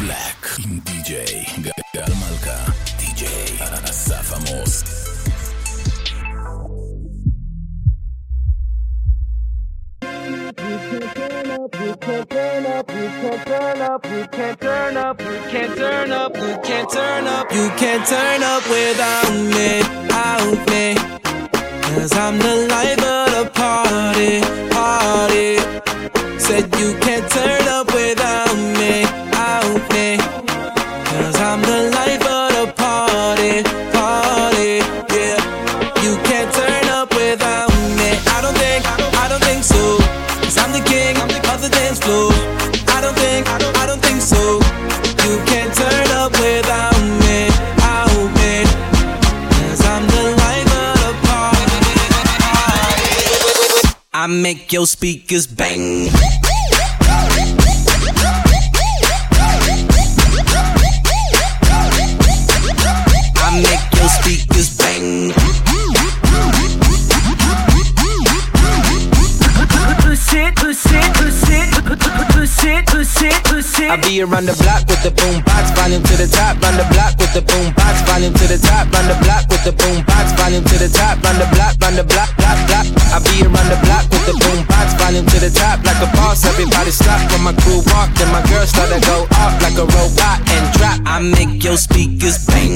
Black עם די.ג'יי גל מלכה, די.ג'יי אסף עמוס. You can't turn up, you can't turn up, you can't turn up, you can't turn up, you can't turn up, you can't turn up without me, out me. 'Cause I'm the life of the party, party. Said you can't turn up without me, out me. 'Cause I'm the life of the party, party. Yeah, you can't turn up without me. I don't think so. 'Cause I'm the king of the dance floor. I don't think so. You can't turn up without me, out me. 'Cause I'm the life of the party. I make your speakers bang. I make your speakers bang. Push it, push it, push it, push it, push it, push it. I be around the block with the boom box, volume to the top. Round the block with the boom box, volume to the top. Round the block with the boom box, volume to the top. Round the block, block, block. I be around the block with the boom box, volume to the top. Like a boss, everybody stop when my crew walk. Then my girls start to go off like a robot and drop. I make your speakers bang.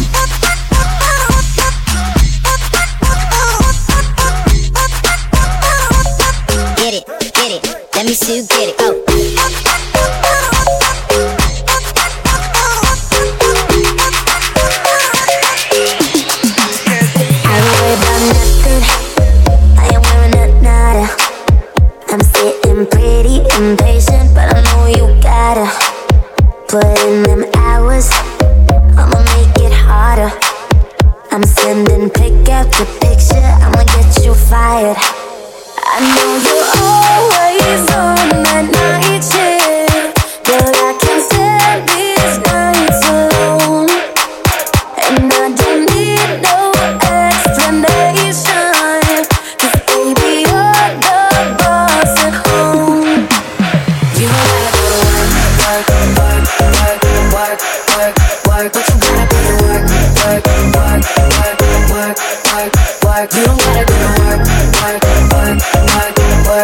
Get it, let me see you get it, oh. I don't worry about nothing, I ain't wearing a nada. I'm sitting pretty impatient, but I know you gotta put in them hours, I'ma make it harder. I'm sending pick after picture, I'ma get you fired. I know you're always on that night shift, but I can't stand these nights alone. And I don't need no explanation, 'cause baby you're the boss at home. You know I gotta work, work, work, work, work, work, work. But you gotta go to work, work, work, work, work, work, work. You don't gotta go to work, work, work, work, work,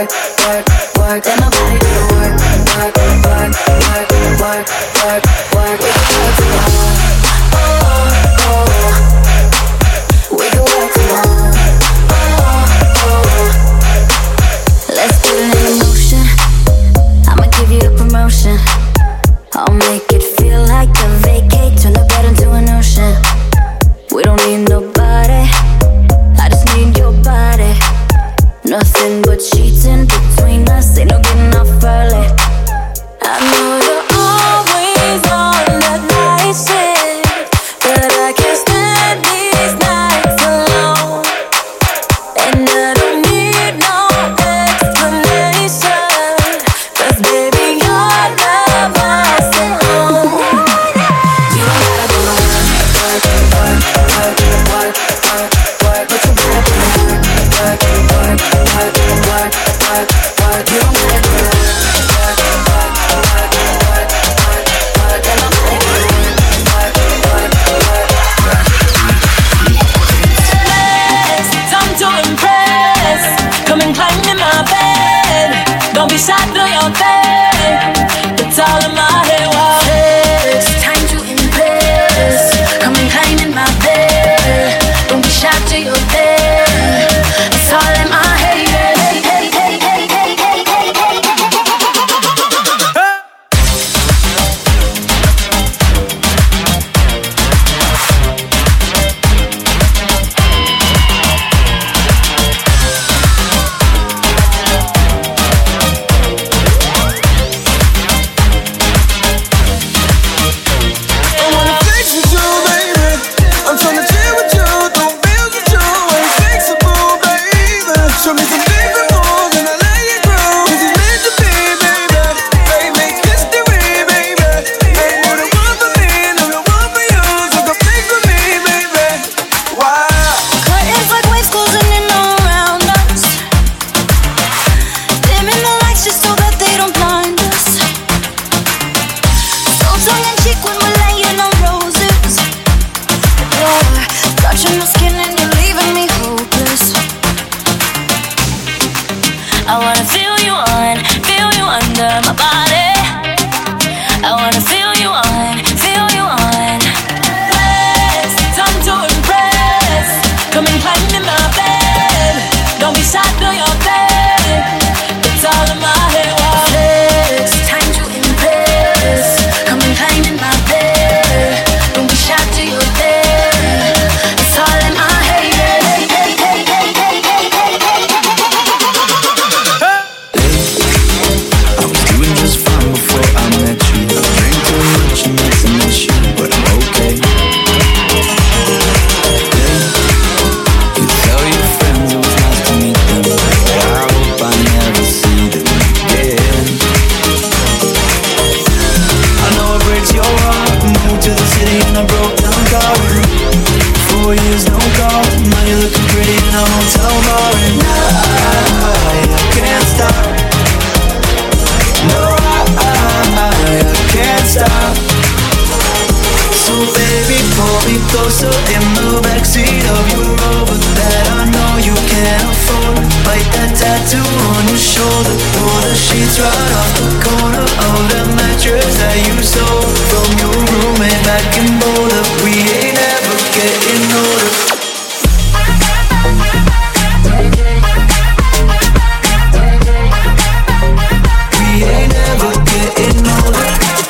mattress that you stole from your roommate back in Boulder. We ain't ever getting older. We ain't ever getting older.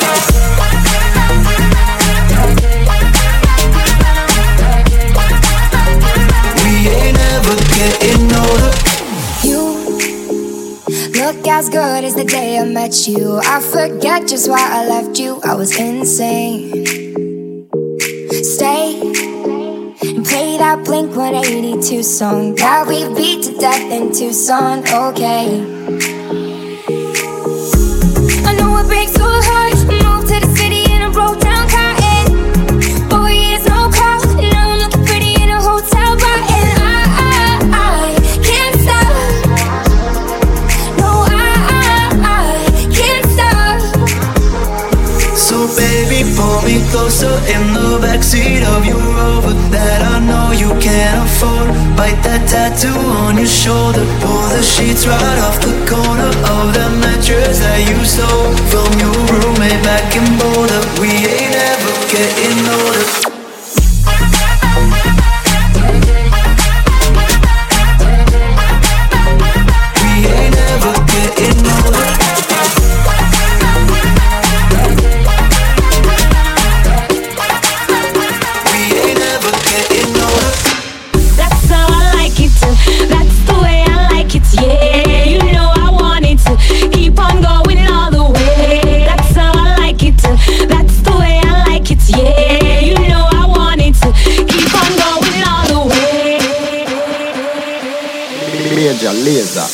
We ain't ever getting older. Look as good as the day I met you. I forget just why I left you. I was insane. Stay and play that Blink-182 song that we beat to death in Tucson. Okay, I know it breaks your heart. Moved to the city in a broke down car. 4 years no call. Now I'm looking pretty in a hotel bar. And I can't stop. So baby, pull me closer in the backseat of your Rover that I know you can't afford. Bite that tattoo on your shoulder. Pull the sheets right off the corner of that mattress that you stole from your roommate back in Boulder. We ain't ever getting older. We ain't ever getting older. Yeah, you know I want it to keep on going all the way. That's how I like it to. That's the way I like it. Yeah, you know I want it to keep on going all the way. Major Lazer.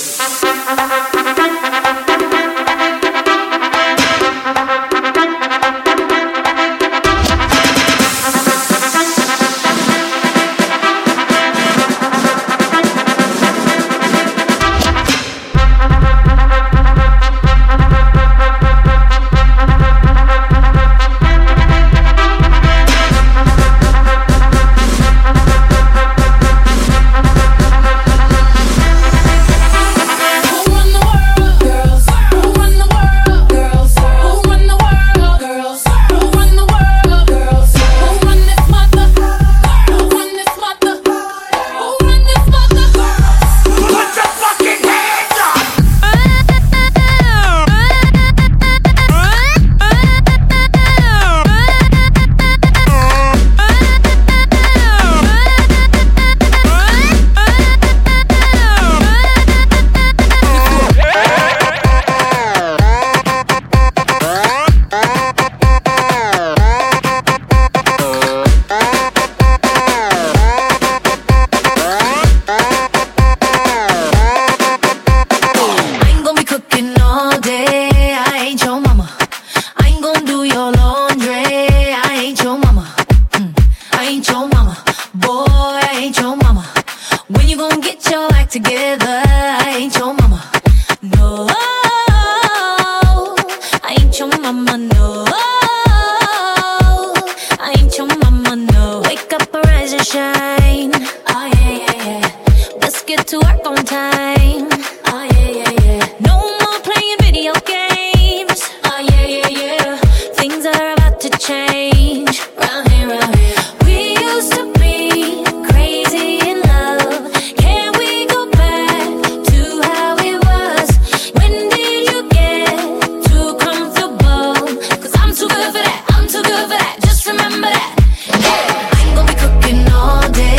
I'm too good for that, just remember that. I ain't gonna be cooking all day.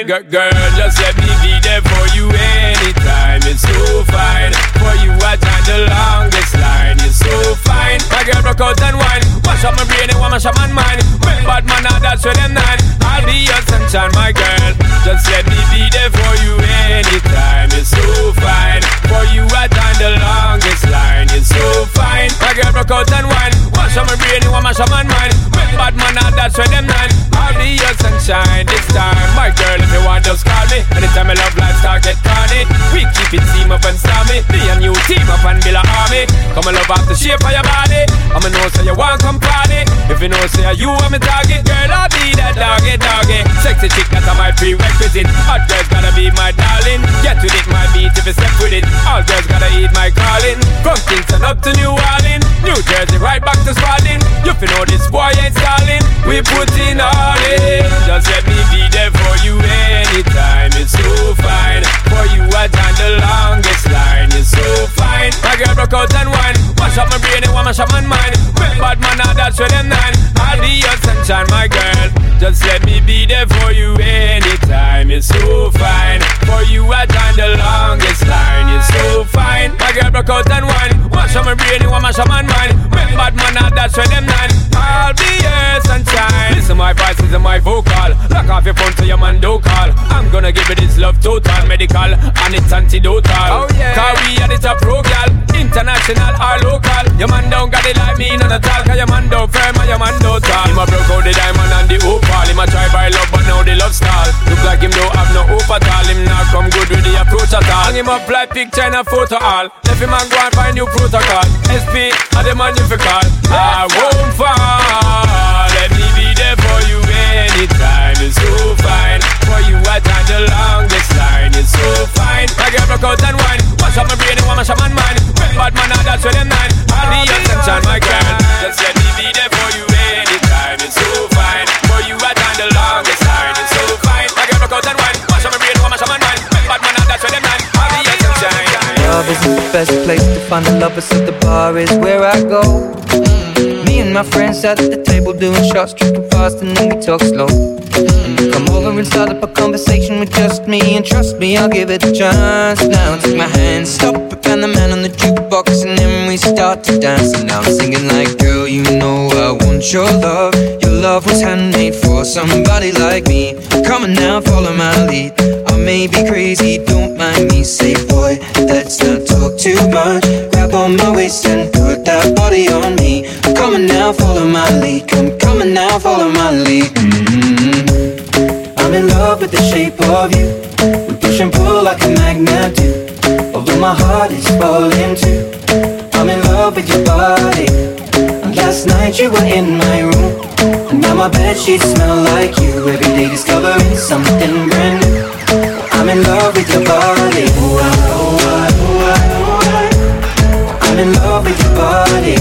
girl, just let me be there for you anytime. It's so fine. For you I joined the longest line. You're so fine. My girl broke out and wine. Wash up my brain and wash up my mind. Bad man, that's where them nine. I'll be your sunshine, my girl. Just let me be there for you anytime. It's so fine. For you I joined the longest line. You're so fine. My girl broke out and wine. Wash up my brain and wash up my mind. Bad man, that's where them nine. I'll be your sunshine this time. My girl, if you want, just call me. Anytime I love lifestyle get carnage. We keep it team up and stormy. Be a new team up and build a army. Come and love off the shape of your body. I'ma know say you want come party. If you know say you are my target, girl, I'll be that doggy. Sexy chick, that's my prerequisite. Hot girls gotta be my darling. Get with it, my beat if you step with it. All girls gotta eat my calling. From Kingston up to New Orleans, New Jersey right back to Spalding. You fi know this boy ain't stalling. We put in all in. Just let me be there for you anytime. It's so fine. For you I joined the longest line. You're so fine. My girl broke out and wine. Wash up my brain and wash up my mind. Bad man, that's where them nine. I'll be your sunshine, my girl. Just let me be there for you anytime. It's so fine. For you I joined the longest line. You're so fine. My girl broke out and wine. Wash up my brain and wash up my mind. Bad man, that's where them nine. I'll be your sunshine. Listen my voice, listen my vocal. Lock off your phone so your man don't call. I'm gonna give you this love total, medical, and it's antidotal. Oh yeah. Cause we are the top pro girl, international or local. Your man don't got it like me, none at all. Cause your man don't firm and your man don't tall. Him a broke out the diamond and the opal. Him a try buy love but now the love stall. Look like him don't have no hope at all. Him not come good with the approach at all. Hang him up like picture in a photo all. Let him man go and find new protocol. SP are the man you fi call. I won't fall. Let me be there for you anytime. It's so fine. For you I joined the longest line. It's so fine. My girl broke out and wine. Wash up my brain and wash up my mind. Bad man, that's where them nine. I'll be your sunshine, my girl. Just let me be there for you anytime. It's so fine. For you I joined the longest line. It's so fine. My girl broke out and wine. Wash up my brain and wash up my mind. Bad man, that's where them nine. I'll be your sunshine. Love isn't the best place to find a lover, so the bar is where I go. Me and my friends sat at the table doing shots, drinking fast, and then we talk slow. And you come over and start up a conversation with just me, and trust me, I'll give it a chance. Now take my hand, stop it, and the man on the jukebox, and then we start to dance. And now I'm singing like, girl, you know I want your love. Your love was handmade for somebody like me. Come on now, follow my lead. I may be crazy, don't mind me. Say, boy, let's not talk too much. Grab on my waist and put that body on me. Come on now, follow my lead. Come on now, follow my lead. I'm in love with the shape of you. We push and pull like a magnet do. Although my heart is falling too. I'm in love with your body. And last night you were in my room, and now my bedsheets smell like you. Every day discovering something brand new. I'm in love with your body. I'm in love with your body.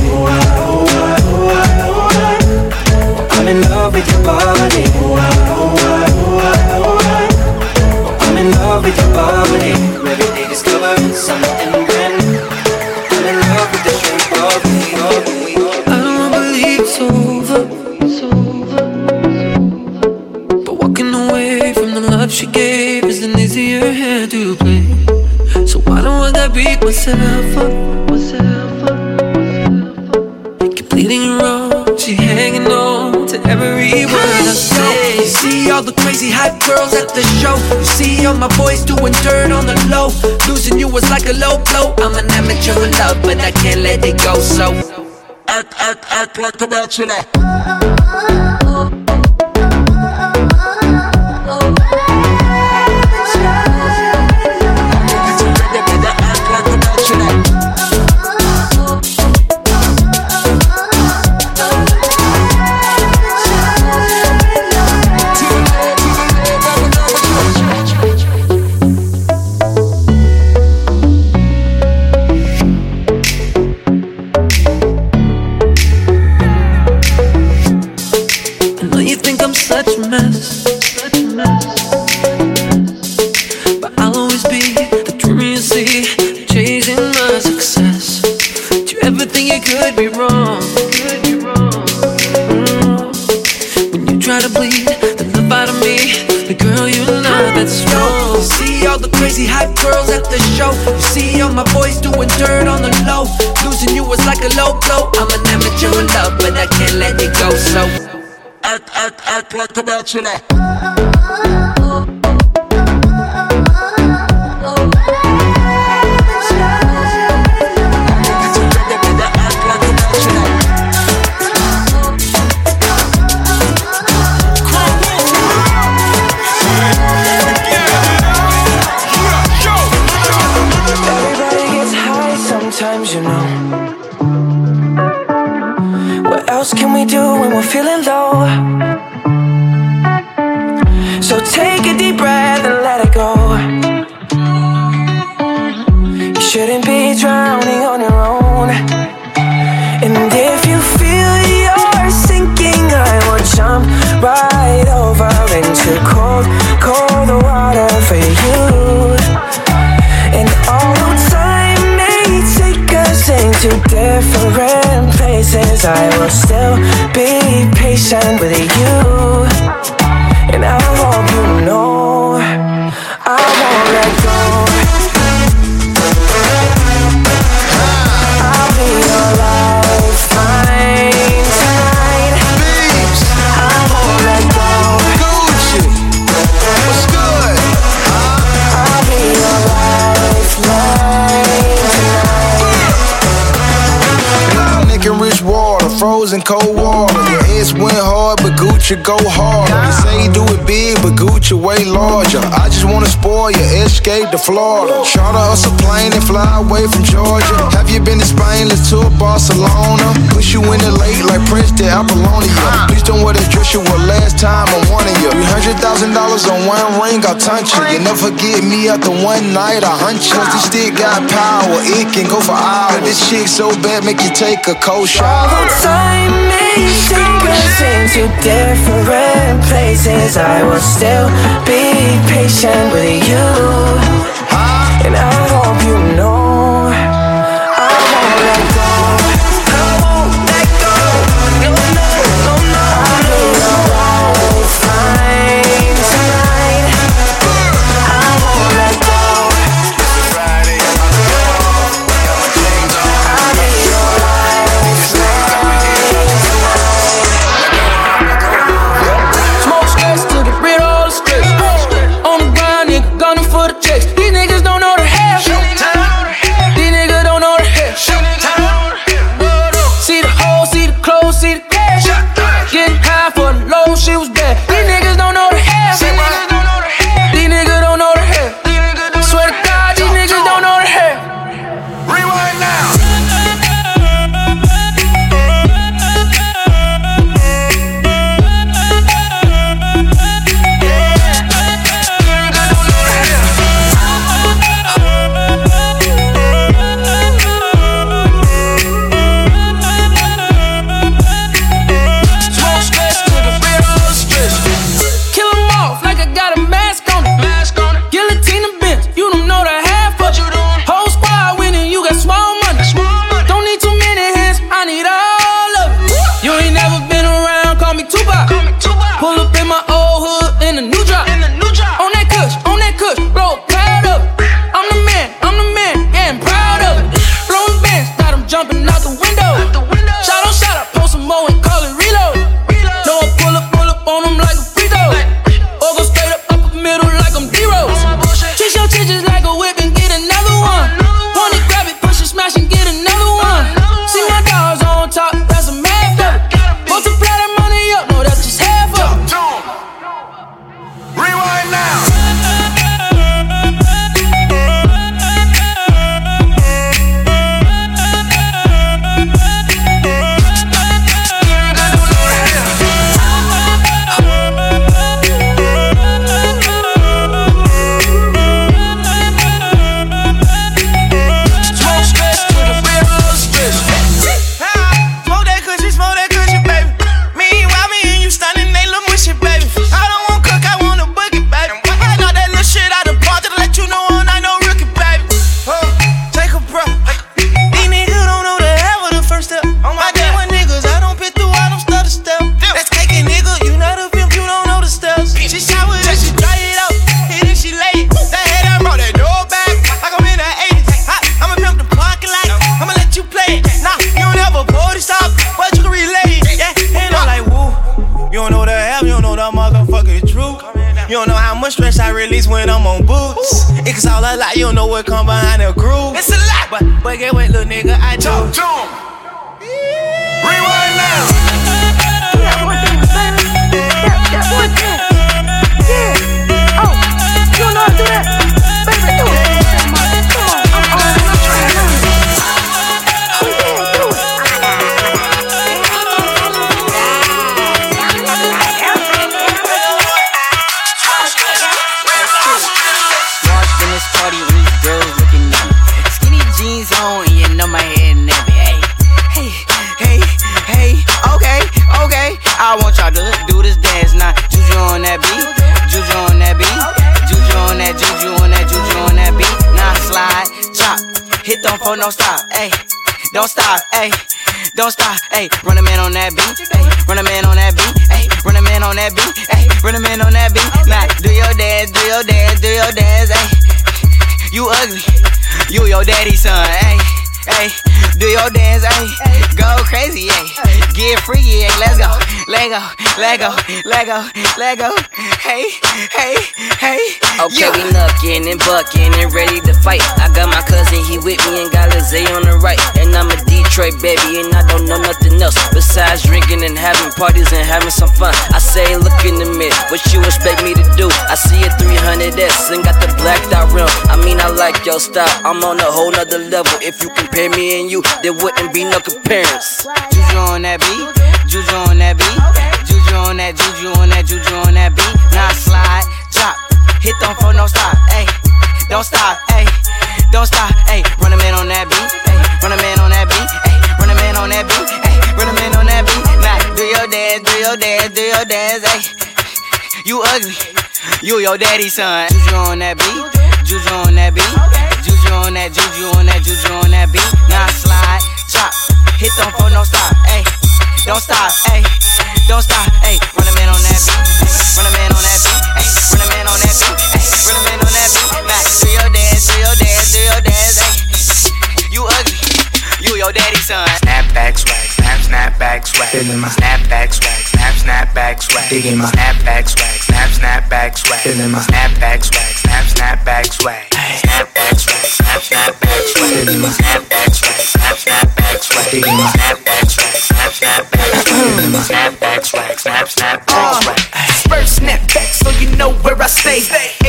I'm in love with your body. I'm in love with your body. Every day discovering something brand new. I'm in love with the shape of me. I don't believe it's over, but walking away from the love she gave is an easier hand to play. So why don't I beat myself up? Keep bleeding wrong, she hanging on to every word I say. You see all the crazy hype girls at the show. You see all my boys doing dirt on the low. Losing you was like a low blow. I'm an amateur in love, but I can't let it go. So act like a bachelor. my voice doing dirt on the low. Losing you was like a low blow. I'm an amateur in love, but I can't let it go. So act like a bachelor. Sometimes, you know. What else can we do when we're feeling low? So take a deep breath and let it go. You shouldn't be drowning on your own. And if you feel you're sinking, I will jump right over into cold, cold water for you. And although time may take us into different places, I will still be patient with you. And I hope you know I won't let go. I'll be your lifeline tonight. I won't let go. Gucci, what's good? I'll be your lifeline tonight. Nick and Rich water, frozen cold water. Your ex went hard, but Gucci go harder. You say you do it big, but Gucci way larger. I just wanna spoil your escape to Florida. Charter us a plane and fly away from Georgia. Have you been to Spain? Let's tour Barcelona. Push you in the lake like Prince to Apollonia. Please don't wear the dress you wore last time I'm warning you. $300,000 on one ring, I'll touch you. You never get me after one night, I hunt you. Cause this stick got power, it can go for hours. This chick so bad, make you take a cold shower. Although time may take us into different places, I will still be patient with you. And I hope you know I won't let go. I won't let go. No, no, no, no. I'll be your lifeline tonight. I won't let go. Friday, I'll be your Smoke stress to get rid of all the stress. On the ground, nigga, gunning for the checks. These niggas don't know the half. You don't know how much stress I release when I'm on boots. It's all a lot, you don't know what come behind the groove. It's a lot, but get what, little nigga, I do. Rewind now. Yeah, one thing, baby. That one thing. Yeah. Oh, you don't know how to do that? Baby, do it. Come on, I'm trying now. Oh yeah, do it. Walked in this party and these girls looking at me. Skinny jeans on and you know my head nappy. Hey, okay. I want y'all to do this dance now. Juju on that beat, juju on that beat, juju on that, juju on that, juju on that beat. Now slide, chop, hit don't for no stop, ayy. Don't stop, ayy. Don't stop, ayy. Run a man on that beat, ayy. Run a man on that beat, ayy. Run a man on that beat, ayy. Run a man on that beat. Now do your dance, do your dance, do your dance, ayy. You ugly, you your daddy's son, ayy. Ayy, do your dance, ayy. Go crazy, ayy. Get freaky, ayy. Let's go. Lego. Hey. Okay, we knuckin' and buckin' and ready to fight. I got my cousin, he with me and got Lizzie on the right. And I'm a Detroit baby and I don't know nothing else besides drinking and having parties and having some fun. I say, look in the mirror, what you expect me to do? I see a 300S and got the blacked out rim. I mean, I like your style, I'm on a whole nother level. If you compare me and you, there wouldn't be no comparison. Juju on that beat, juju on that beat, juju on that, juju on that, juju on that beat. Now slide, drop, hit don't for no stop, ayy. Don't stop, ayy. Don't stop, ayy. Run a man on that beat, ayy. Run a man on that beat, ayy. Run a man on that beat, ayy. Run a man on that beat. Now do your dance, do your dance, do your dance, ayy. You ugly, you your daddy's son. Juju on that beat, juju on that beat, juju on that, juju on that, juju on that beat. Now slide, drop, hit don't for no stop, ayy. Don't stop, ayy. Don't stop, ayy. Run a man on that beat, run a man on that beat, ayy. Run a man on that beat, ayy. Run a man on that beat. Now do your dance, do your dance, do your dance, ayy. You ugly, you your daddy's son. Snapback swag, snapback swag. Feeling my snapback swag, snapback swag. Digging my snapback swag, snapback swag. Feeling my snapback swag, snapback swag. Snapback swag, snapback swag. Feeling my snapback swag, snapback swag. Digging my snapback swag, snapback swag. Feeling my snapback swag, snapback swag. First snapback, so you know where I stay.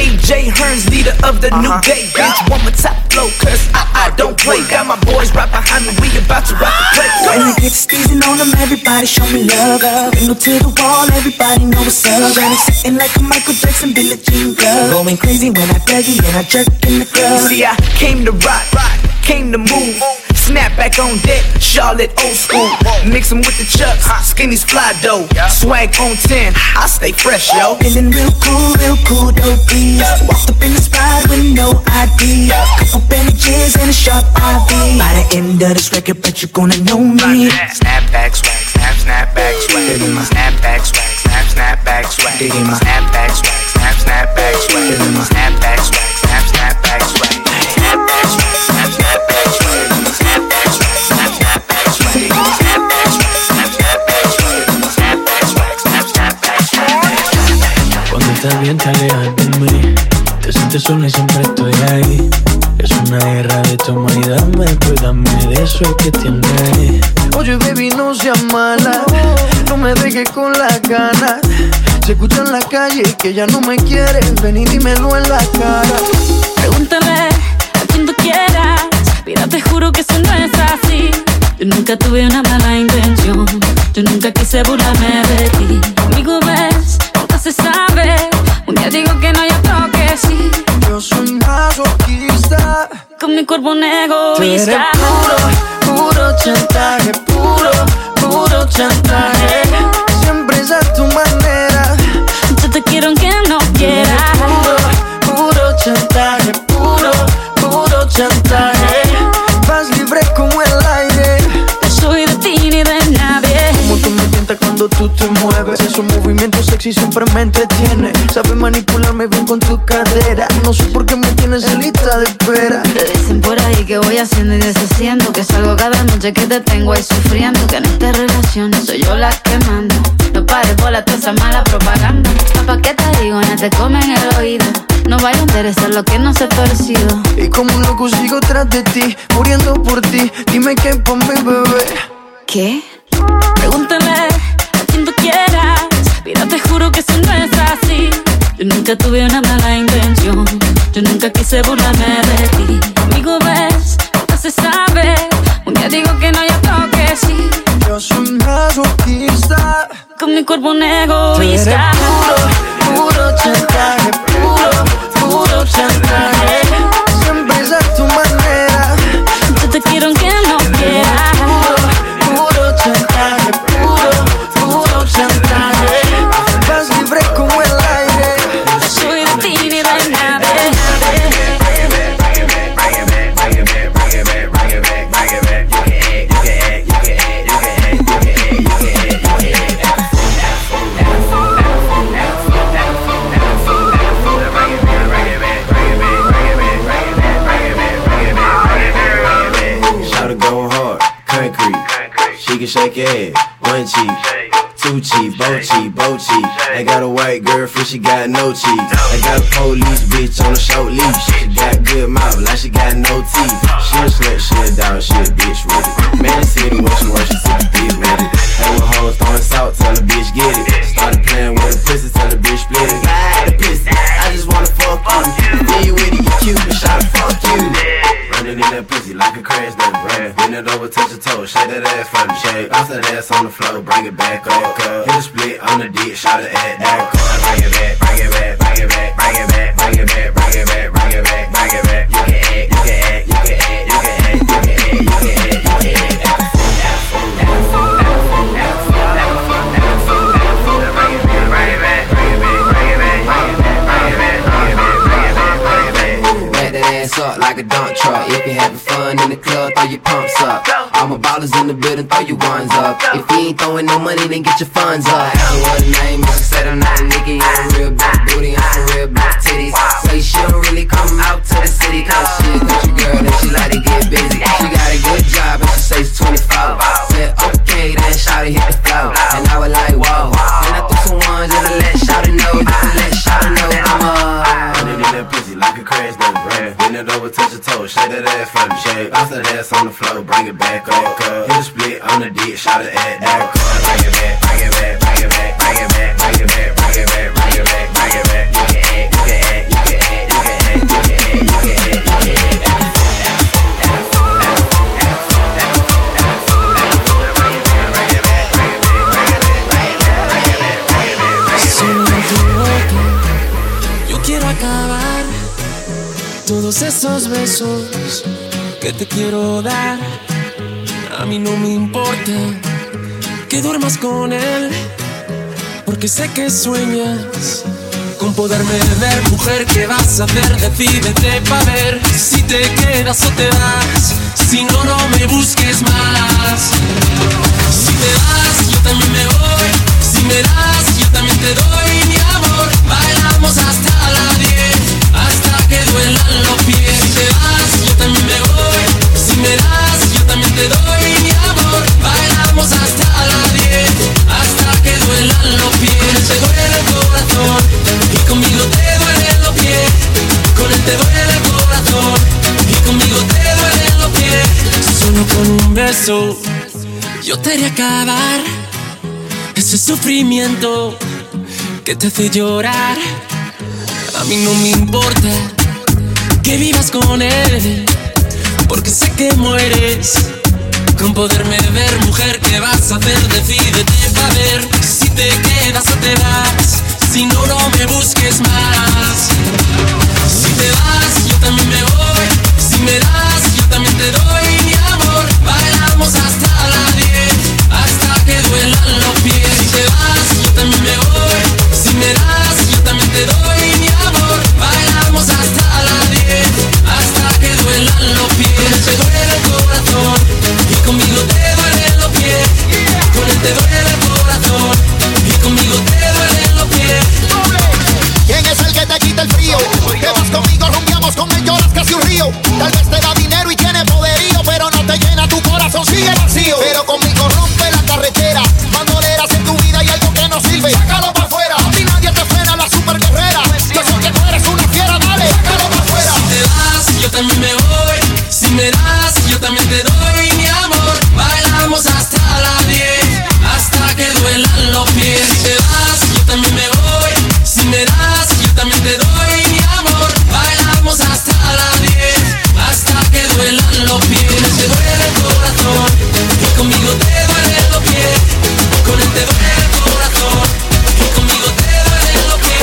AJ Hearns, leader of the new day. Bitch, one more top flow, cause I don't play. Got my boys right behind me, we about to rock the place. When I get sneezing on them, everybody show me love. Window to the wall, everybody know what's up. And it's sitting like a Michael Jackson, Billie Jean glove. Going crazy when I buggy and I jerk in the club. See, I came to rock, came to move. Snapback on deck, Charlotte old school. Mix 'em with the chucks, skinny's fly dough. Swag on 10, I stay fresh, yo. Feeling real cool, dope beats. Walked up in the spot with no ID. Couple bandages and a sharp IV. By the end of this record, bet you gonna know me. Snapback swag, snapback swag. Feeling my snapback swag, snapback swag. Digging my snapback swag, snapback swag. Feeling my snapback swag, snapback swag. Snapback swag, snapback swag. Snapback swag, snapback swag. Snapback swag, snapback swag. Snapback swag. Cuando estás bien te alejas de mí. Te sientes sola y siempre estoy ahí. Es una guerra de toma y dame, pues dame de eso que tienes. Oye baby no seas mala, no me dejes con las ganas. Se escucha en la calle que ya no me quieres, ven y dímelo en la cara. Pregúntale a quien tú quieras, mira te juro que eso no es así. Yo nunca tuve una mala intención, yo nunca quise burlarme de ti. Conmigo ves, nunca se sabe, un día digo que no y otro que sí. Yo soy masoquista, con mi cuerpo un egoísta. Tú eres puro chantaje, puro chantaje. Siempre es a tu manera, yo te quiero aunque no quieras. Puro chantaje, puro chantaje. Vas libre como el aire, no soy de ti ni de nadie. Como tú me tientas cuando tú te mueves, esos movimientos sexy siempre me entretiene. Sabes manipularme bien con tu cadera, no sé por qué me tienes en lista de espera. Te dicen por ahí que voy haciendo y deshaciendo, que salgo cada noche que te tengo ahí sufriendo, que en esta relación soy yo la que manda. No pares bola toda esa mala propaganda. Papá, ¿qué te digo? No te comen el oído. No vaya a interesar lo que no se ha torcido. Y como un loco sigo tras de ti, muriendo por ti. Dime qué pa' mi bebé. ¿Qué? Pregúntale a quien tú quieras, mira, te juro que eso no es así. Yo nunca tuve una mala intención, yo nunca quise burlarme de ti. Conmigo ves, no se sabe, un día digo que no, ya tengo que sí. Yo soy masoquista, con mi cuerpo un egoísta. Puro chantaje, puro chantaje. Siempre es a tu manera. Yo te quiero aunque no quieras. Puro chantaje, puro chantaje. Vas libre como el aire. Soy de ti ni de nadie. She can shake your head, one cheek, two cheek, both cheek. I got a white girlfriend, she got no cheeks. I got a police bitch on a short leash. She got good mouth, like she got no teeth. She a slut, she a dog, she a bitch with it. Man, it's city when she works, she took the bitch with it. Hey, with hoes throwing salt, tell the bitch get it. Started playing with the pussy, tell the bitch split it. The pussy, I just wanna fuck you. Then you with it, you cute, but shawty fuck you. Running in that pussy like a crash that brand. Bend it over, touch your toes, shake that ass for me. Shake off that ass on the floor, bring it back up. Hit a split on the dick, shot it at that car. Bring it back, bring it back, bring it back, bring it back, bring it back, bring it back, bring it back, bring it back. You can act, you can act, you can act, you can act, you can act, you can act, you can act. Up like a dump truck. If you're having fun in the club, throw your pumps up. All my ballers in the building, throw your ones up. If you ain't throwing no money, then get your funds up. I don't know what her name is. She said I'm not a nigga, I'm a real big booty, I'm some real big titties. Say she don't really come out to the city, cause she a country girl and she like to get busy. She got a good job and she say she's 24. Said okay, then shawty hit the floor. And I was like, whoa. And I threw some ones just to let shawty know, just to let shawty know I'm running in that pussy like a crash that brand. Bend it over, touch your toes, shake that ass for me. Shake off that ass on the floor, bring it back up. Hit a split on the dick, shot it at that car. Bring it back, bring it back, bring it back, bring it back, bring it back, bring it back, bring it back, bring it back. You can act, you can act, you can act, you can act, you can act, you can act, you can act. Yo quiero acabar todos esos besos que te quiero dar. A mí no me importa que duermas con él, porque sé que sueñas con poderme ver. Mujer, ¿qué vas a hacer? Decídete pa' ver si te quedas o te vas. Si no, no me busques más. Si te vas, yo también me voy. Si me das, yo también te doy mi amor. Bailamos hasta las 10, hasta que duelan los pies. Si te vas, yo también me voy. Si me das, yo también te doy mi amor. Bailamos hasta las 10, hasta que duelan los pies. Con él te duele el corazón y conmigo te duelen los pies. Con él te duele el corazón y conmigo te duelen los pies. Solo con un beso yo te haré acabar ese sufrimiento que te hace llorar. A mí no me importa que vivas con él, porque sé que mueres con poderme ver. Mujer, ¿qué vas a hacer? Decídete pa' ver si te quedas o te vas. Si no, no me busques más. Si te vas, yo también me voy. Si me das, yo también te doy mi amor. Bailamos hasta las 10, hasta que duelan los pies. Si te vas, yo también me voy. Si me das, yo también te doy mi amor. Bailamos hasta las 10, hasta que duelan los pies. Con él te duele el corazón y conmigo te duelen los pies. Con él te duele el corazón y conmigo te duelen los pies. ¿Quién es el que te quita el frío? Te vas conmigo, rumbeamos con él, lloras casi un río. Tal vez te da dinero los pies, se duele el corazón. Y conmigo te duelen los pies. Con él te duele el corazón. Y conmigo te duelen los pies.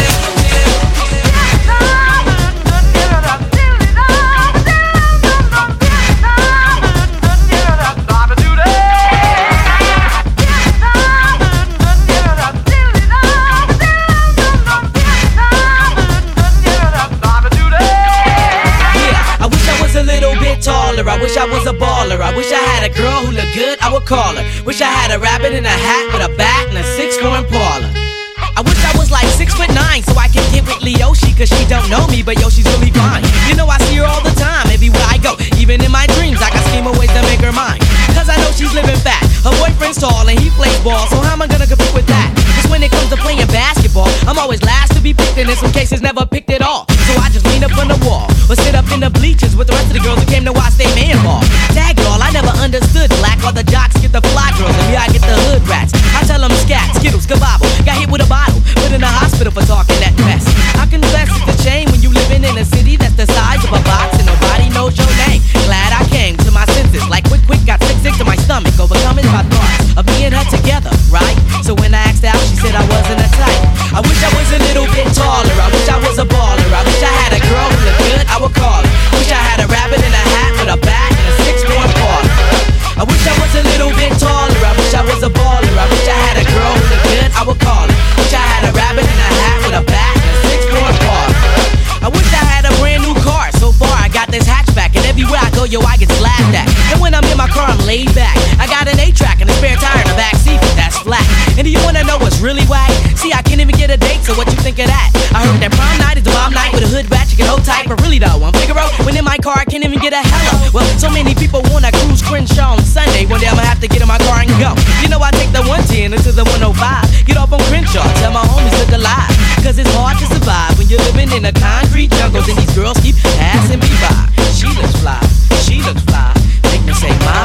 I wish I was a baller. I wish I had a girl who looked good, I would call her. Wish I had a rabbit in a hat with a bat and a 6'4" Impala. I wish I was like 6'9" so I can get with Leoshi, cause she don't know me, but yo, she's really fine. You know I see her all the time, everywhere I go. Even in my dreams, I got scheme of ways to make her mine. Cause I know she's living fat. Her boyfriend's tall and he plays ball, so how am I gonna compete with that? Cause when it comes to playing basketball, I'm always last to be picked, and in some cases never picked at all. So I just lean up on the wall, or sit up in the bleachers with the rest of the girls who came to watch they man ball. Tag y'all, I never understood black, while the jocks get the fly girls, and me I get the hood rats. I tell them scat, skittles, kabobble, got hit with a bottle, put in the hospital for talking that mess. I confess it's a shame when you living in a city that's the size of a box and nobody knows your name. Glad I came to my senses, like quick, got sick to my stomach, overcoming my thoughts of me and her together, right? So when I asked out, she said I wasn't a type. I wish I was a little bit taller, I wish I was a baller, I wish I had a girl who looked good, I would call her. Wish I had a rabbit in a hat with a bat and a 6'4" Impala. I wish I was a little bit taller, I wish I was a baller, I wish I had a girl who looked good, I would call her. Wish I had a rabbit in a hat with a bat and a 6'4" Impala. I wish I had a brand new car, so far I got this hatchback, and everywhere I go, yo, I get laughed at. And when I'm in my car, I'm laid back. I got an 8-track and a spare tire in the back seat, but that's flat. And do you wanna know what's really whack? See, I can't even get a date, so what you think of that? I heard that prom night is the bomb night with a hood rat, you can hold tight, but really though, I'm Figaro. When in my car, I can't even get a hello. Well, so many people wanna cruise Crenshaw on Sunday. One day I'ma have to get in my car and go. You know I take the 110 into the 105. Get off on Crenshaw, tell my homies look alive. Cause it's hard to survive when you're living in a concrete jungle, and these girls keep passing me by. She looks fly, she looks fly. Make me say my.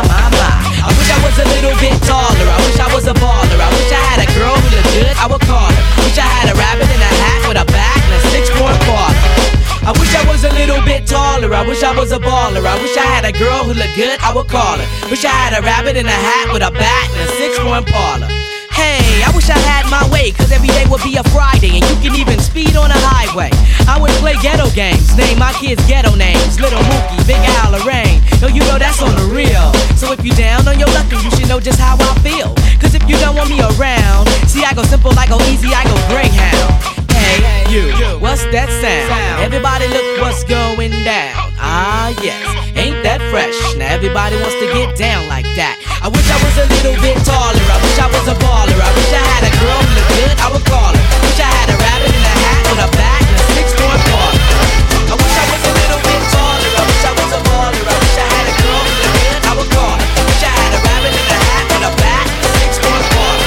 I wish I was a little bit taller, I wish I was a baller, I wish I had a girl who looked good, I would call her. Wish I had a rabbit in a hat with a bat and a 6'4" Impala. I wish I was a little bit taller, I wish I was a baller, I wish I had a girl who looked good, I would call her. Wish I had a rabbit in a hat with a bat and a 6'4" Impala. Hey, I wish I had my way, cause every day would be a Friday, and you can even speed on a highway. I would play ghetto games, name my kids ghetto names, Little Mookie, Big Al, Lorraine. Yo, you know that's on the real. So if you down on your luck, then you should know just how I feel. Cause if you don't want me around, see I go simple, I go easy, I go Greyhound. Hey, you, what's that sound? Everybody look what's going down. Ah, yes, ain't that fresh? Now everybody wants to get down like that. I wish I was a little bit taller, I wish I was a baller, I wish I had a girl who looked good, I would call her. Wish I had a rabbit in a hat with a bat and a 6'4" Impala. I wish I was a little bit taller, I wish I was a baller, I wish I had a girl who looked good, I would call her. Wish I had a rabbit in a hat with a bat and a 6'4" Impala.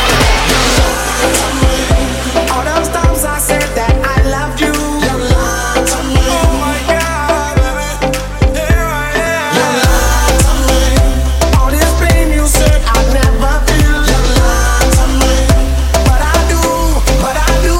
All those times I said that I loved you. You lied to me. Oh my God, baby, here I am. You lied to me. All this pain you said I'd never feel. You lied to me. But I do.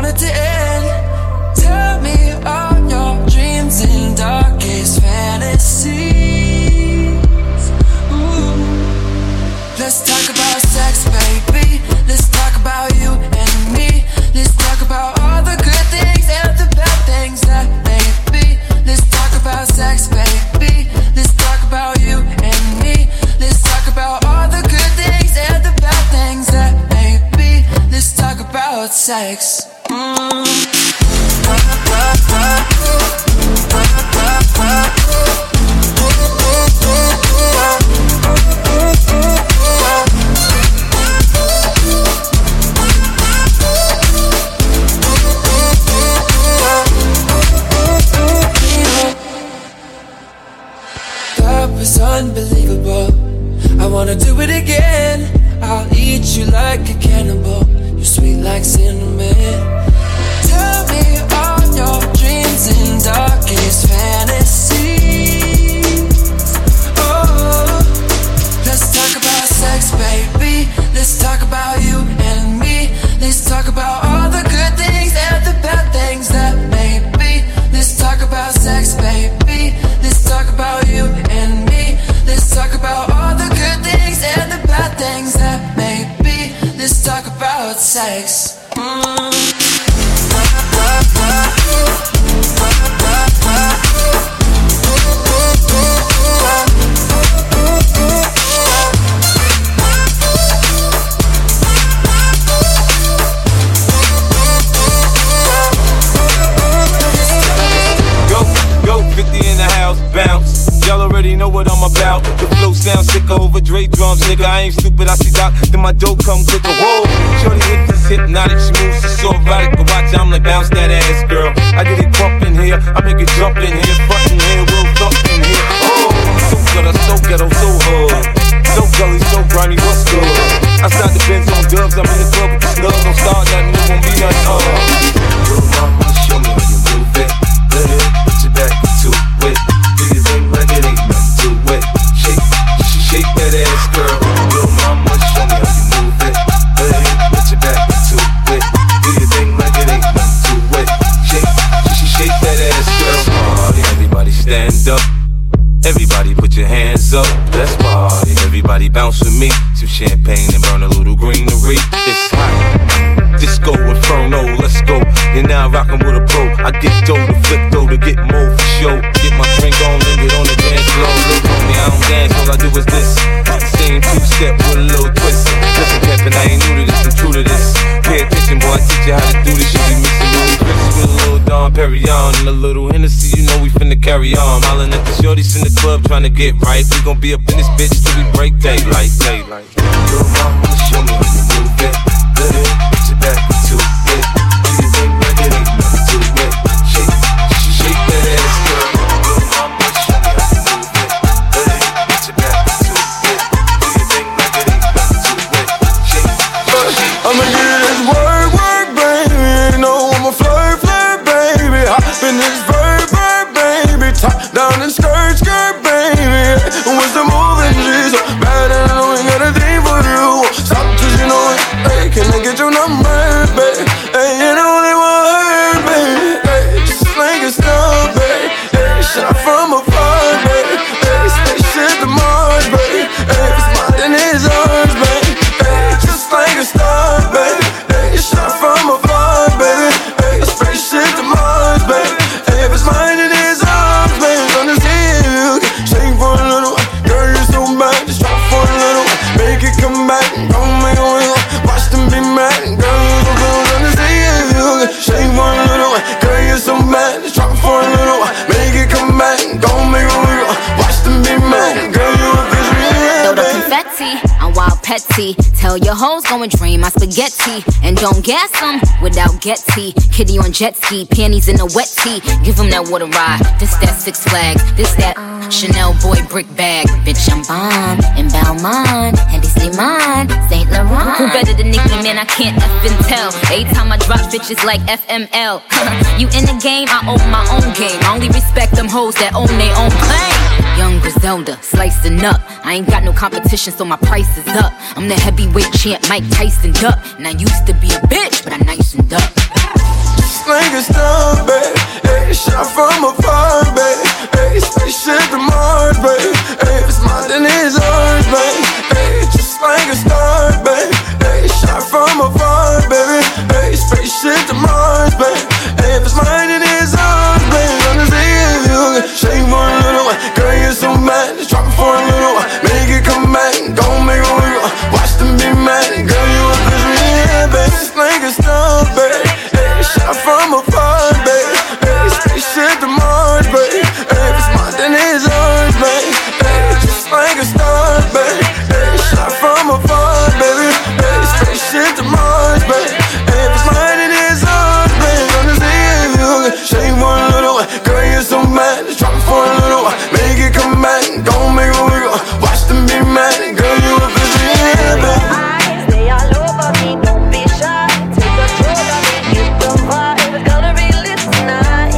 it to end. Tell me all your dreams and darkest fantasies. Ooh. Let's talk about sex, baby. Let's talk about you and me. Let's talk about all the good things and the bad things that may be. Let's talk about sex, baby. Let's talk about you and me. Let's talk about all the good things and the bad things that may be. Let's talk about sex. That was unbelievable. I wanna do it again. I'll eat you like a cannibal. You're sweet like cinnamon. Tell me all your dreams and darkest fantasies. Oh, let's talk about sex, baby. Let's talk about you and me. Let's talk about all the good things and the bad things that may be. Let's talk about sex, baby. Let's talk about you and me. Let's talk about all the good things and the bad things that may be. Let's talk about sex. Go, 50 in the house, bounce. Y'all already know what I'm about. The flow sounds sicker over Dre drums, nigga. I ain't stupid, I see Doc, then my dough come quicker. Whoa, shorty hit this hypnotic, she moves, she's so erotic. But watch, I'm like, bounce that ass, girl. I get it bump in here, I make it jump in here, front in here, we'll thump in here. Oh, so gutter, so ghetto, so hard. So gully, so grimy, what's good? Outside the Benz on dubs, I'm in the club with the snubs. Don't start nothing, it won't be nothing. Little mama, show me how you move it. Let it put your back into it. Do your thing like it ain't nothing to it. Shake that ass, girl. Little mama, show me how you move it. Let it put your back into it. Do your thing like it ain't nothing to it. Shake that ass, girl. Party, everybody stand up. Everybody put your hands up. Let's party. Everybody bounce with me. Some champagne and burn a little greenery. It's hot. Disco Inferno, let's go. You're now rockin' with a pro. I get dough to flip dough to get more for show. Get my drink on and get on the dance floor. Look on me, I don't dance, all I do is this. Same two-step with a little twist. Listen, Kevin, I ain't new to this, I'm true to this. Pay attention, boy, I teach you how to do this. You be mixing little Chris with a little Dom Perignon and a little Hennessy, you know we finna carry on. Hollin' at the shorties in the club trying to get right. We gon' be up in this bitch till we break daylight. Little mama, show me how you move it. Let it put your back into it. Do your thing like it ain't nothing to it. Shake that ass, girl. Little mama, show me how you move it. Let it put your back into it. Do your thing like it ain't nothing to it. I'ma get this work, baby. You know I'm a flirt, baby. Hop in this verb, baby. Top down and skirt, baby. What's the moving? She's so bad and I know ain't got a thing for you. Stop 'cause you know it. Hey, can I get your number, baby? Hey, you know they want her, baby. Hey, just like a star, baby. Hey, shot from afar, baby. Hey, spaceship to Mars, baby. Hey, if it's mine, then it's ours, baby. Hey, just like a star, baby. Hey, shot from afar, baby. Hey, spaceship to Mars, baby. Hey, if it's mine, then it's ours, baby. Understand you can shake for a little. Girl, you're so bad, just drop for a little. Make it come back, don't make a wiggle. Watch them be mad, girl, you're so good. Understand you can shake for a little. Girl, you're so bad, just drop for a little. Make it come back, don't make a wiggle. Watch them be mad, girl, you're a fish. Throw the confetti, I'm wild petty. Tell your hoes go and drain my spaghetti. And don't gas them without Getty. Kitty on jet ski, panties in a wet tee. Give them that water ride, this that Six Flags. This that Chanel boy brick bag. Bitch, I'm bomb, and Balmain, and they say mine, Saint Laurent. Who better than Nicki, man, I can't effing tell. Every time I drop bitches like FML. You in the game, I own my own game. I only respect them hoes that own their own plane. Young Griselda, slicing up. I ain't got no competition, so my price is up. I'm the heavyweight champ, Mike Tyson up. And I used to be a bitch, but I nicened up. like a star, baby. Hey, shot from afar, baby. Hey, spaceship to Mars, baby. Hey, if it's mine, then it's ours, baby. Hey, just like a star, baby. Hey, shot from afar, baby. Hey, spaceship to Mars, baby. Hey, if it's mine, then it's ours, baby. I'm just saying if you can shake for a little while. Girl, you're so mad, just drop it for a little while. Make it come back, don't make it wiggle. Watch them be mad, girl, you a bitch, yeah, baby. It's like a star, baby. Hey, shot from afar, baby. Hey, spaceship to Mars, baby. Hey, if it's mine, then it's ours, baby. Hey, just like a star, baby. Hey, shot from afar, baby. Hey, spaceship to Mars, baby. Hey, if it's mine, then it's ours, baby. I'm just saying if you can shake for a little while. Girl, you're so mad, just drop it for a little while. Make it come back, don't make it wiggle. Watch them be mad, girl, you a bitch, yeah, baby. Stay all over me, don't be shy. Take control of me, get the vibe. It's gonna be lit tonight.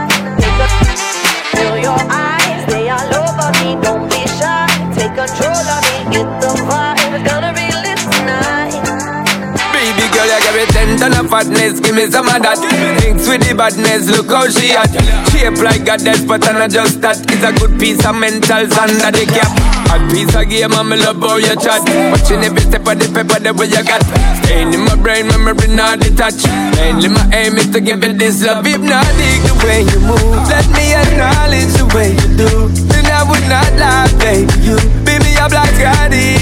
Feel your eyes, stay all over me, don't be shy. Take control of me, get the vibe. It's gonna be lit tonight. Baby girl, you give me 10 ton of fatness, give me some of that. Thinks with the badness, look how she at. Shape like a death, but I'm not just that. It's a good piece of mental sand that they cap. A piece of game, and me love how you chat. Watching every step of the paper, the way you got. Staying in my brain, memory not detached. Mainly my aim is to give it this love. Hypnotic the way you move, let me acknowledge the way you do. Then I would not lie, baby, you beat me up like Scotty.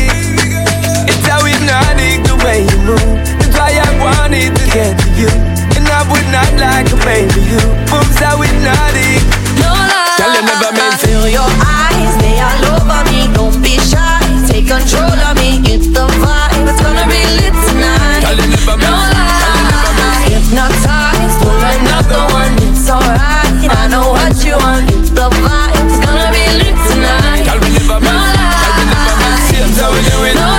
It's how hypnotic the way you move. That's why I wanted to get to you. And I would not like a baby, you moves how hypnotic. No lie, tell you never meant to. feel your eyes, they all over me, don't be shy. Take control of me, get the vibe. It's gonna be lit tonight. Tell you never meant. No lie, hypnotized, pull another one, it's alright. I know what you want, get the vibe. It's gonna be lit tonight. Tell me never No meant. Tell me never meant. Seems how we do it. No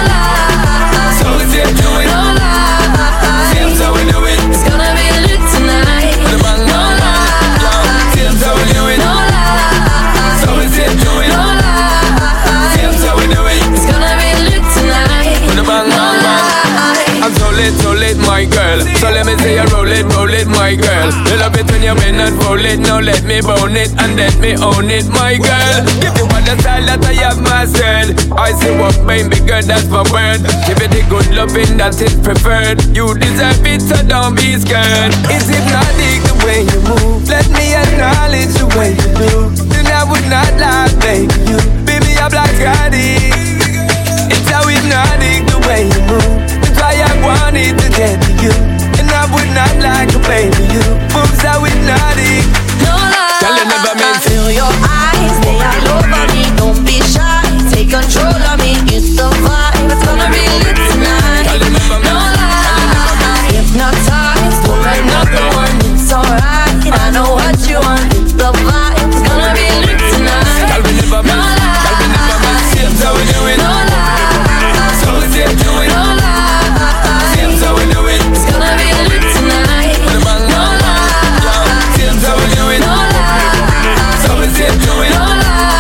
lie, So we say do it. no lie. Seems how we do it. It's gonna be lit tonight. The bang No lie, seems how we do it. no lie. So we say do it. No lie, Seems how we do it. it's gonna be lit tonight. The bang bang bang. I'm so lit, my girl. So let me say you roll it, my girl. You love it when you bend and roll it. Now let me bone it and let me own it, my girl. Give you all the style that I have mastered. I say what baby girl, that's my word. Give it the good loving that is preferred. You deserve it, so don't be scared. It's hypnotic the way you move. Let me acknowledge the way you do. Then I would not lie, baby. You beat me up like Scotty. It's how hypnotic the way you move. That's why I wanted to get to you. And I would not like a baby, you moves how hypnotic. No lie, Tell you never meant to. feel your eyes, they all over me, don't be shy. Take control of me, get the vibe. It's gonna be lit tonight. Tell you never No meant. lie, hypnotized, pull another one, it's alright. I know what you want, get the vibe. It's gonna be lit tonight. Tell me never No meant. Tell me never meant. lie, Seems how we do it. no lie, So we say do it. no lie. Seems how we do it. It's gonna be lit tonight. The bang No bang bang. lie, Seems how we do it. no lie. So we say do it. No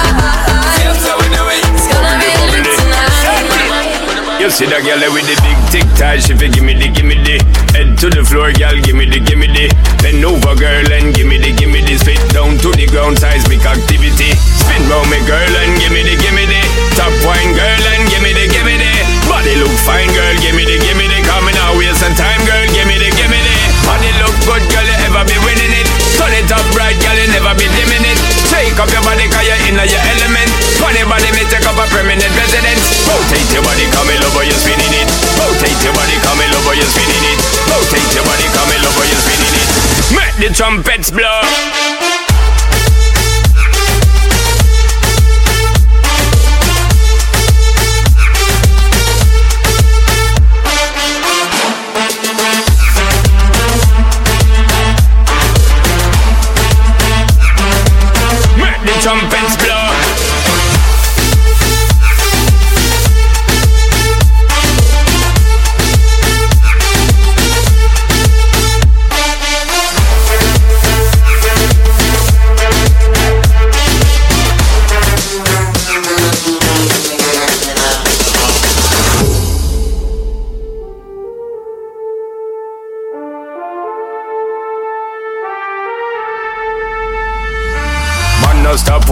lie, Seems how we do it. it's gonna be lit tonight. You see that girl with the big tic tac, she fi gimme the head to the floor, girl, gimme the bend over, girl, and gimme the spit down to the ground, seismic activity. Spin round me, girl, and gimme the top wine, girl, and gimme the body look fine, girl, gimme the coming out waste some time, girl, gimme the body look good, girl, you ever be winning it. Turn it up right, girl, you never be dimming it. Shake up your body, cause you're in your element. Funny body, me take up a permanent residence. Rotate your body, come in over, you're spinning it. Rotate your body, come in over, you're spinning it. Rotate your body, come in over, you're spinning it. Make the trumpets blow. Trumpets blow.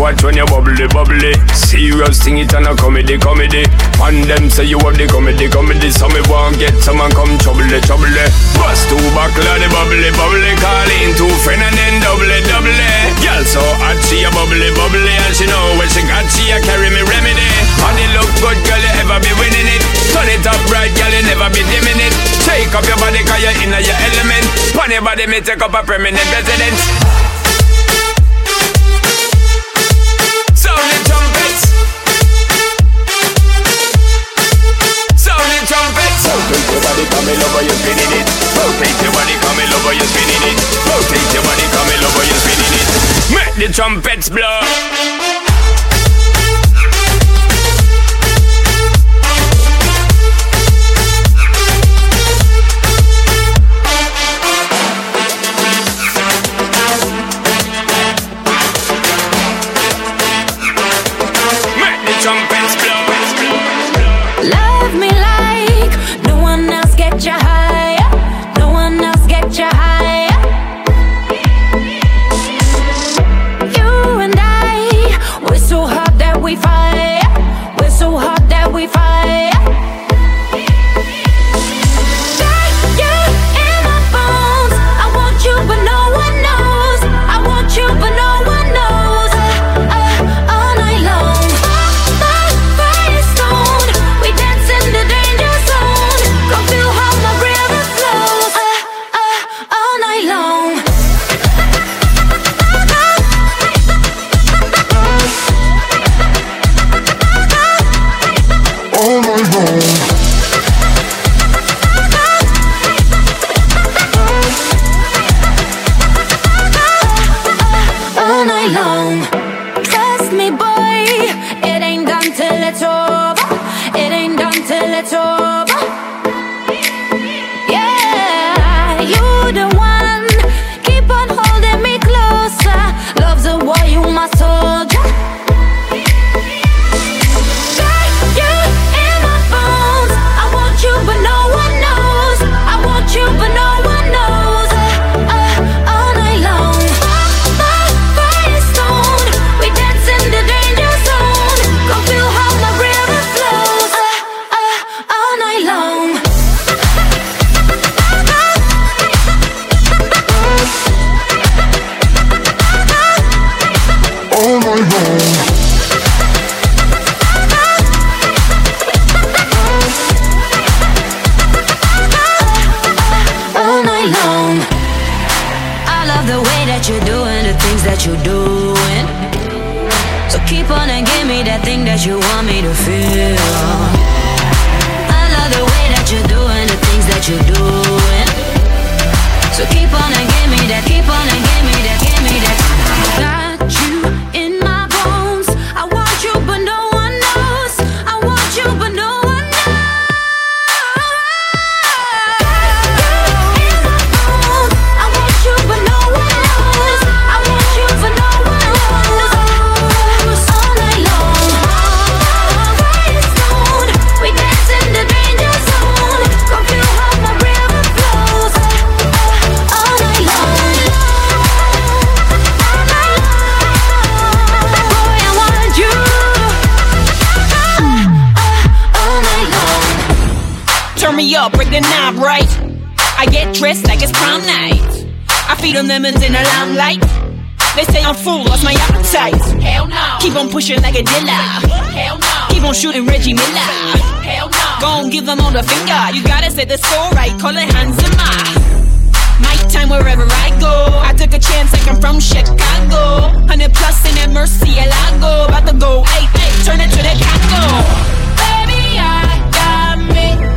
watch when you bubbly, bubbly. Serious thing, it and a comedy, comedy. And them say you have the comedy, comedy. So me won't get someone come trouble, trouble. Bust two buckle of the bubbly, bubbly. Call in two friend and then double, double. Girl so hot, she a bubbly, bubbly. And she know when she got, she a carry me remedy. And it look good, girl, you ever be winning it. Turn it up right, girl, you never be dimming it. Take up your body, cause you're in your element. Pon your body, me take up a permanent residence. Sound the trumpets. Sound the trumpets. Rotate your body, come in over, you're spinning it. Rotate your body, come in over, you're spinning it. Rotate your body, come in over, you're spinning it. Make the trumpets blow. Trumpets blow. Love me like no one else, get you higher. No one else, get you higher. You and I, we're so hot that we fire. We're so hot that we fire. Got you in my bones. I want you, but no one knows. I want you, but no one knows. All night long. All night long. Trust me, boy, it ain't done till it's over. It ain't done till it's over. Yeah, you the one. Keep on holding me closer. Love's a war, you my soldier. Got you in my bones. I want you, but no one knows. I want you, but no one knows. All night long. You're doing the things that you're doing. So keep on and give me that thing that you want me to feel. I love the way that you're doing the things that you're doing. So keep on and give me that, keep on and give me that, give me that. Got you in my bones. I want you, but no one knows. I want you, but no one knows. Up, break the knob right. I get dressed like it's prom night. I feed them lemons in the limelight. They say I'm full, lost my appetite. Hell no. Keep on pushing like a dealer. Hell no. Keep on shooting Reggie Miller. Hell no. Gon' give them all the finger. You gotta say the score right, call it Hanzima. My time wherever I go. I took a chance like I'm from Chicago. 100 plus in that Murcielago. About to go, hey, hey, turn it to the Congo. Baby, I got me.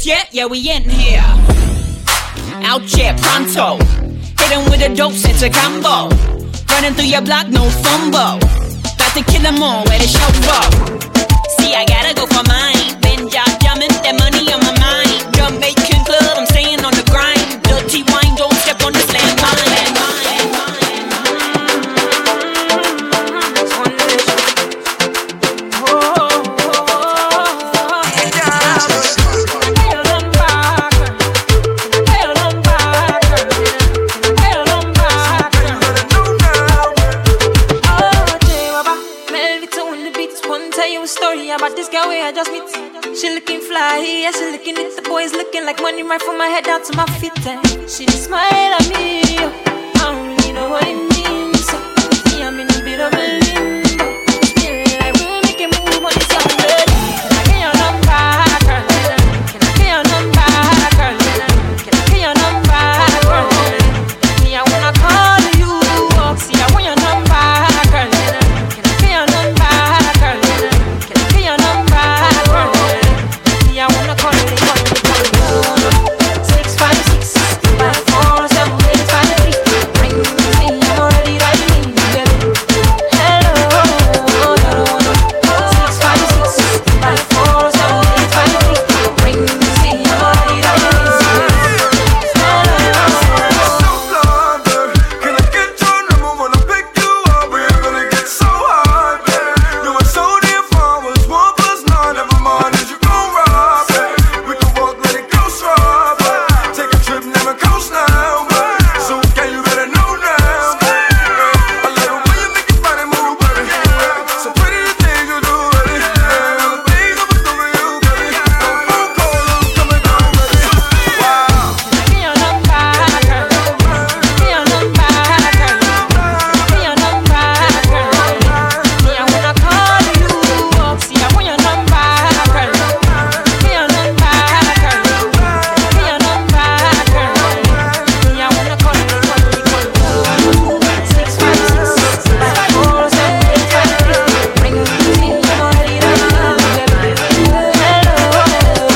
this yet? Yeah, we in here. Out here, pronto. Hit 'em with a dope sense of combo. Running through your block, no fumble. Got to kill 'em all, where the show up. See, I gotta go for mine. Been jumping, that money on my mind. Jamaican club, I'm staying on the grind. Dirty wine, don't step on this landmine. About this girl where I just meet. She looking fly, yeah, she looking at the boys looking like money right from my head down to my feet. And she smile at me, I don't really know what it means. So, yeah, I'm in a bit of a limbo. Spirit, I will make it move on this young blood. Can I get your number, girl? Can I get your number, girl? Can I get your number, girl? Me, I wanna call you, see, I want your number, girl. Can I get your number, girl? Your number, yeah, I wanna call it, call it, call it. 656 547 853. Ring me, I'm already writing, baby. Hello, 656 547 853. Ring me, I'm already writing, Can I get your number? Wanna pick you up? We're gonna get so high, babe. You are so dear from us. 1 + 9, never mind as you gon' rob, babe. We can walk, let it go strong, babe. Take a trip, never coast now, babe. So can you better know now, babe. I love the way you make your body move, baby. So pretty the things you do, baby. The things I'ma do for you, baby. Phone call, I'm coming down, baby. Wow. Get your number, girl. Get your number, girl. Get your number, girl. Me, I wanna call you up. See, I want your number, girl. Get your number, girl. Get your number, girl. Me, I wanna call you, call you, call you. 656 547 853. Ring me, I'm already writing, baby. Hello,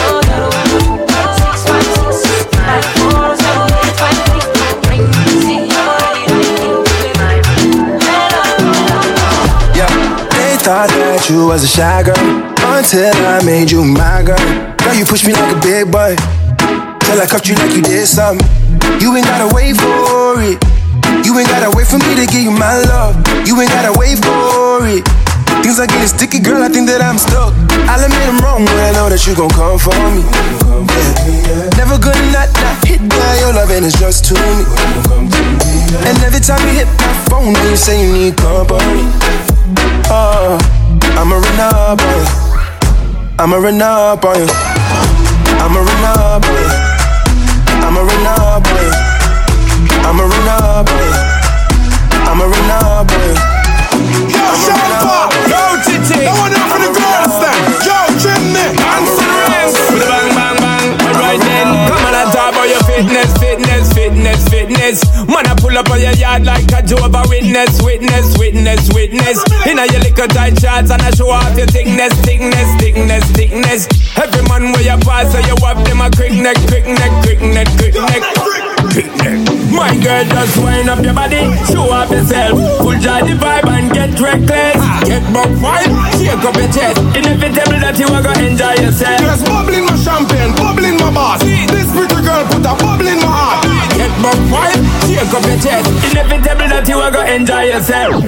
656 547 853. Ring me, I'm already writing, baby. Yeah, they thought that you was a shy girl until I made you my girl. Girl, you pushed me like a big boy till I cuffed you like you did something. You ain't gotta wait for it. You ain't gotta wait for me to give you my love. You ain't gotta wait for it. Things are getting sticky, girl, I think that I'm stuck. I'll admit I'm wrong, but I know that you gon' come for me. Yeah. Never gonna not hit by your loving is just to me. And every time you hit my phone, you say you need company. Oh, I'ma run up on you. I'ma run up on you. I'ma run up on you. I'ma run up on you. I'ma run up on you. I'ma run up on you. Yo, Sharpa! Yo, Titi! I want for the girls then! Yo, Jimmy! Answer the rest! With a bang, bang, bang! Alright then, come on and talk about your fitness, fitness, fitness, fitness. Man, I pull up on your yard like a Jehovah Witness, witness, witness, witness. Inna your little tight shorts and I show off your thickness, thickness, thickness, thickness. Every man where you pass, so you have them a quick neck, quick neck, quick neck, quick neck. My girl, just wind up your body, show off yourself. Full joy the vibe and get reckless. Get buck wild, shake up your chest. Inevitable that you are gonna enjoy yourself. Just bubble in my champagne, bubble in my boss. This pretty girl put a bubble in my heart. Get buck wild, shake up your chest. Inevitable that you are gonna enjoy yourself.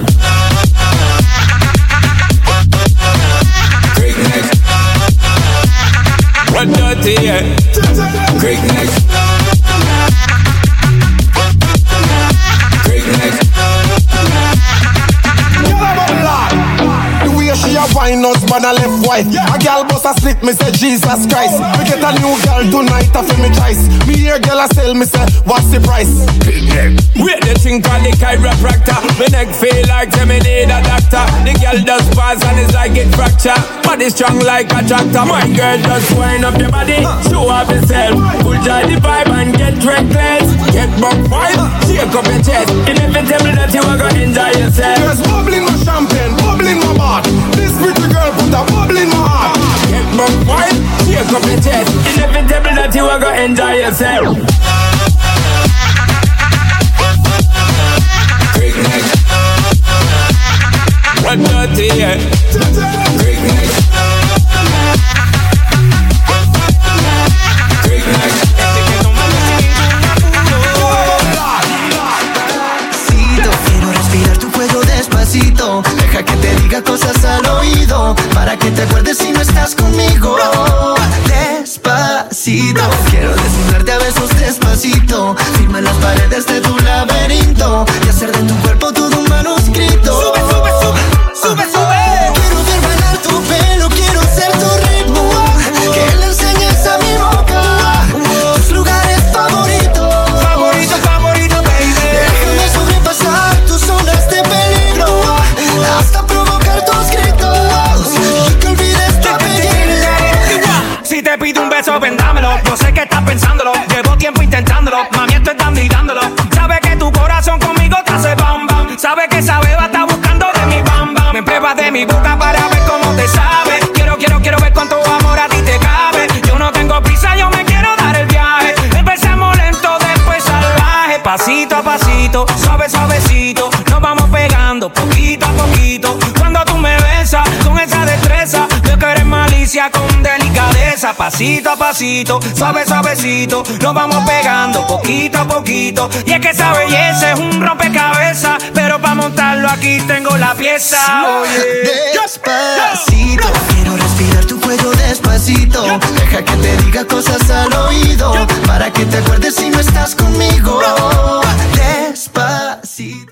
Quick neck. What dirty, yeah. Quick neck. She a wine us, but I left white. A gal bust a slick, me say Jesus Christ. We get a new gal tonight, I feel me choice. Me hear gal a sell, me say what's the price? Wait the thing called the chiropractor. My neck feel like me need a doctor. The gal does pass and it's like it fracture. Body strong like a tractor. My girl just wind up your body, show off yourself. Full joy the vibe and get reckless. Get buck wild, shake up your chest. Inevitable that you are gonna enjoy yourself. Just bubble in my champagne, bubble in my bar. This pretty girl put a bubble in my heart. Get buck wild, shake up your chest. Inevitable that you are gonna enjoy yourself. Great night. One dirty, yeah. Great night. Great night. Quiero respirar tu cuello despacito. Deja que te diga cosas al oído, para que te acuerdes si no estás conmigo. Despacito. Quiero desnudarte a besos despacito. Firma en las paredes de tu laberinto y hacer de tu cuerpo todo un manuscrito. Sube, sube, sube, sube, sube. Quiero ver bailar tu pelo, quiero ser tu ritmo. Que le enseñes a mi boca tus lugares favoritos. Favorito, favorito, baby. Déjame sobrepasar tus zonas de peligro hasta provocar tus gritos y que olvides tu apellido. Si te pido un beso, vendámelo. Yo sé que estás pensándolo. Llevo tiempo intentándolo. Mami, estoy dando y dándolo. Sabes que tu corazón conmigo te hace bam bam. Sabes que esa beba está buscando de mi bam bam. Me pruebas de mi boca para ver cómo te sabe. Quiero ver cuánto amor a ti te cabe. Yo no tengo prisa, yo me quiero dar el viaje. Empezamos lento, después salvaje. Pasito a pasito, suave suavecito. Nos vamos pegando poquito a poquito. Cuando tú me besas con esa destreza, veo que eres malicia con delicadeza. Pasito a pasito, suave suavecito. Nos vamos pegando poquito a poquito. Y es que esa belleza es un rompecabezas, pero para montarlo aquí tengo la pieza. Oye, despacito. Quiero respirar tu cuello despacito. Deja que te diga cosas al oído, para que te acuerdes si no estás conmigo. Despacito.